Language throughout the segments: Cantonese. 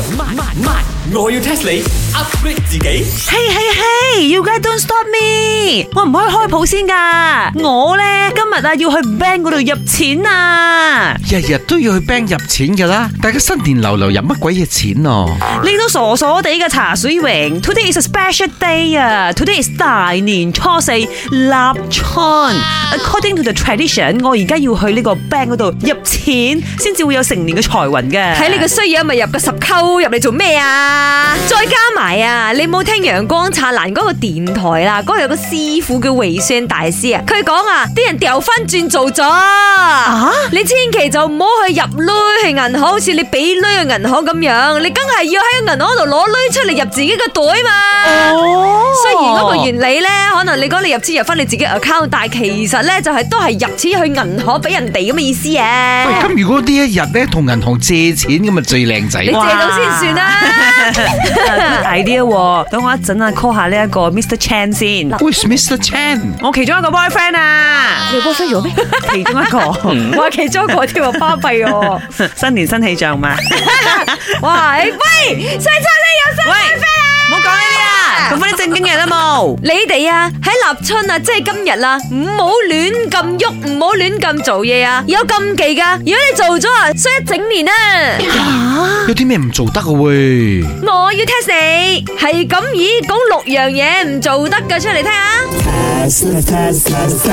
我要 test 你 upgrade 自己。 You guys don't stop me！ 我唔可以開鋪先噶。我咧今日要去 bank 嗰度入錢啊！ 日日都要去 bank 入錢噶啦，大家新年流入乜鬼嘢錢啊？ 你都傻傻地嘅茶水榮 ，Today is a special day 啊 ！Today is 大年初四立春。According to the tradition， 我而家要去呢個 bank 嗰度入錢，先至會有成年嘅財運嘅。 睇你個衰樣咪入個10溝入嚟做咩啊？再加埋啊，你冇聽陽光燦爛嗰個電台啦，嗰度有個師傅叫維宣大師啊，佢講啊，啲人掉翻轉做咗啊！你千祈就唔好去入鐳去銀行，好似你俾鐳去銀行咁樣，你梗係要喺銀行度攞鐳出嚟入自己個袋嘛。雖然嗰個原理咧，可能你講你入錢入翻你自己 account， 但係其實咧就係都係入錢去銀行俾人哋咁嘅意思啊。 喂，咁如果呢一日咧同銀行借錢咁咪最靚仔， 你借到先算啦。 大啲喎，等我一陣call 下呢一個 Mr. Chan 先。 Who's Mr. Chan？ 我其中一個 boyfriend 啊， 你 boyfriend 咗咩？ 其中一個， 我話其中一個添啊，巴閉喎！ 新年新氣象嘛。 哇！喂，細秋你有新 boyfriend 啊！ 唔好講呢啲啊，講翻啲正經嘢啦冇。 你哋啊喺立春啊，即係今日啦，唔好亂咁喐，唔好亂咁做嘢啊！有禁忌噶，如果你做咗啊，衰一整年啊！ 有啲咩唔做得嘅喂？ 我要 test 你，係咁以講6樣嘢唔做得嘅出嚟聽下。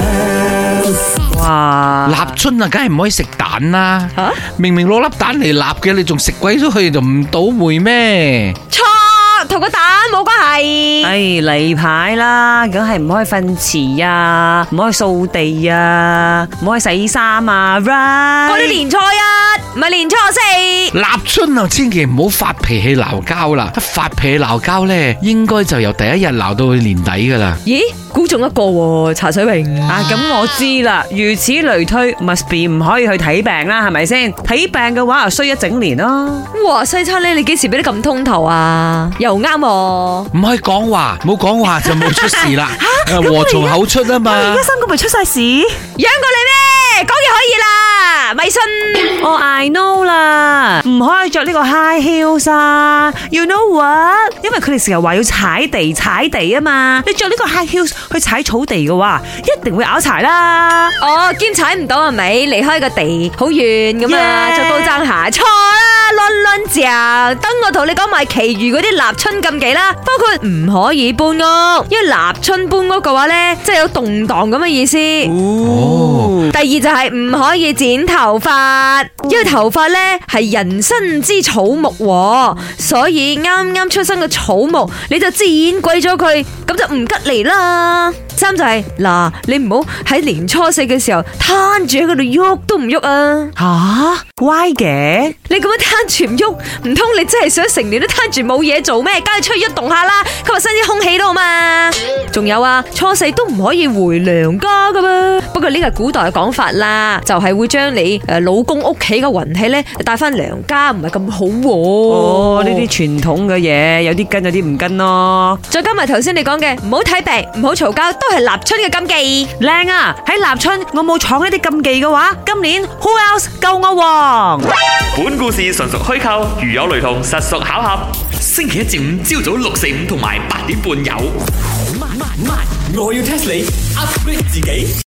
哇！ 立春啊，梗係唔可以食蛋啦！ 吓， 明明攞粒蛋嚟立嘅，你仲食鬼咗佢，就唔倒霉咩？ 錯，同個蛋冇關係。 哎，例牌啦，梗係唔可以瞓遲啊，唔可以掃地啊，唔可以洗衫啊 ，right？ 嗰啲年初一，唔係年初四。 立春啊，千祈唔好發脾氣鬧交啦！一發脾氣鬧交咧，應該就由第一日鬧到去年底噶啦。 咦？估中一個喎，茶水榮啊，咁我知啦，如此類推 ，must be 唔可以去睇病啦，係咪先？睇病嘅話，就衰一整年咯。 哇，西餐咧，你幾時俾得咁通透啊？又啱喎。 唔可以講話，冇講話就冇出事啦。禍從口出啊嘛。 而家3個咪出晒事， 養過你咩？講嘢可以啦，咪信。 哦，I know 啦，唔可以着呢個 high heels 啊 ，you know what？ 因為佢哋成日話要踩地啊嘛，你着呢個 high heels 去踩草地嘅話，一定會拗柴啦。 哦，兼踩唔到係咪？離開個地好遠咁啊，着高踭鞋，錯啦，亂嚼。等我同你講埋其餘嗰啲立春禁忌啦，包括唔可以搬屋，因為立春搬屋嘅話咧，即係有動盪咁嘅意思。 哦。 第二就係唔可以剪頭髮，因為頭髮咧係人生之草木，所以啱啱出生嘅草木你就剪鬼咗佢，咁就唔吉利啦。三就係嗱，你唔好喺年初四嘅時候攤住喺嗰度喐都唔喐啊！ 吓，why嘅？ 你咁樣攤住唔喐，唔通你真係想成年都攤住冇嘢做咩？梗係出去喐動下啦，吸下新鮮空氣都好嘛。仲有啊，初四都唔可以回娘家噶噃。不過呢個係古代嘅講法啦，就係會將你老公屋企嘅運氣咧帶翻娘家，唔係咁好。 哦，呢啲傳統嘅嘢，有啲跟，有啲唔跟咯。 再加埋頭先你講嘅，唔好睇病，唔好嘈交，都係立春嘅禁忌。 靚啊！喺立春我冇闖呢啲禁忌嘅話，今年 Who else 救我王？ 本故事純屬虛構，如有雷同，實屬巧合。星期一至五朝早6、4、5同埋8點半有。我要 test 你 upgrade 自己。